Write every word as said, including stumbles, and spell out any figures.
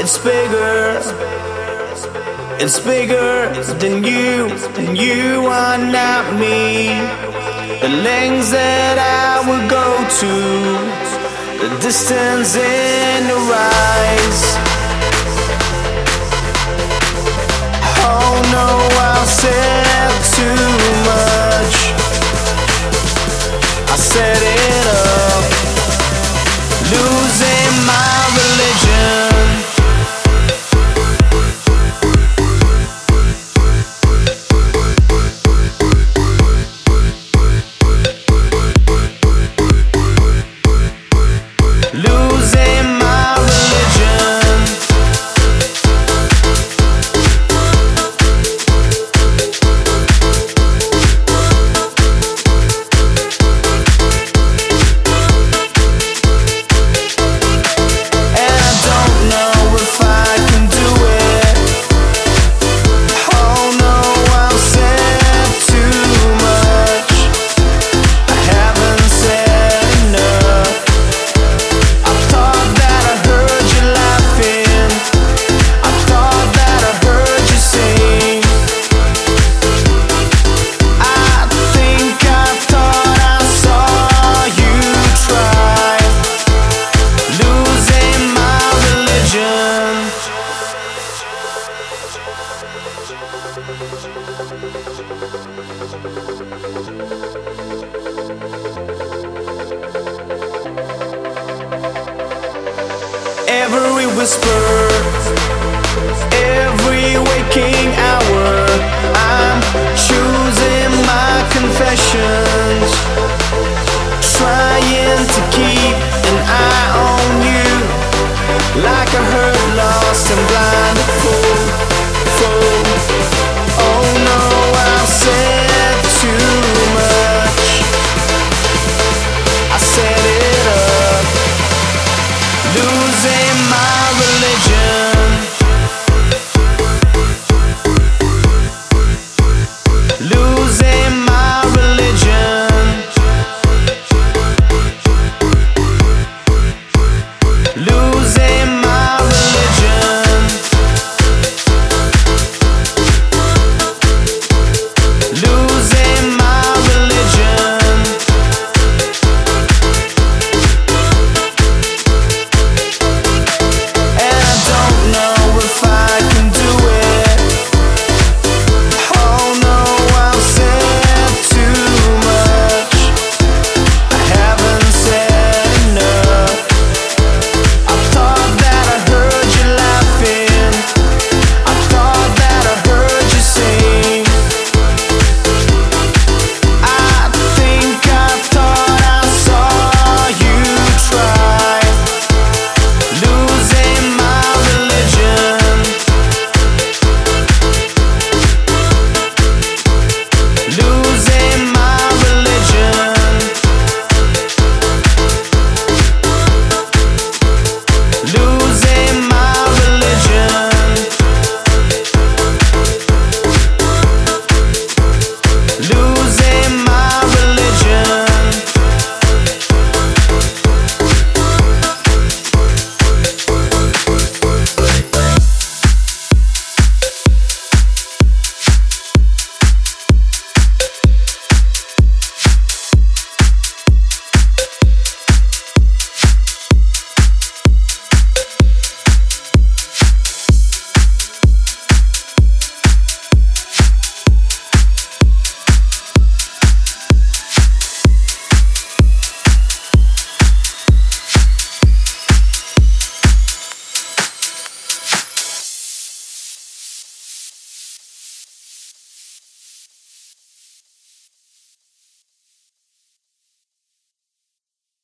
It's bigger, it's bigger than you, and you are not me. The lengths that I would go to, the distance in your eyes. Oh no, I've said too much. I set it up, losing my religion. Every whisper, every waking hour, I'm choosing my confessions, trying to keep an eye on you, like a hurt, lost and blinded fool, fool. Oh no, I've said too much. I set it up, losing my religion.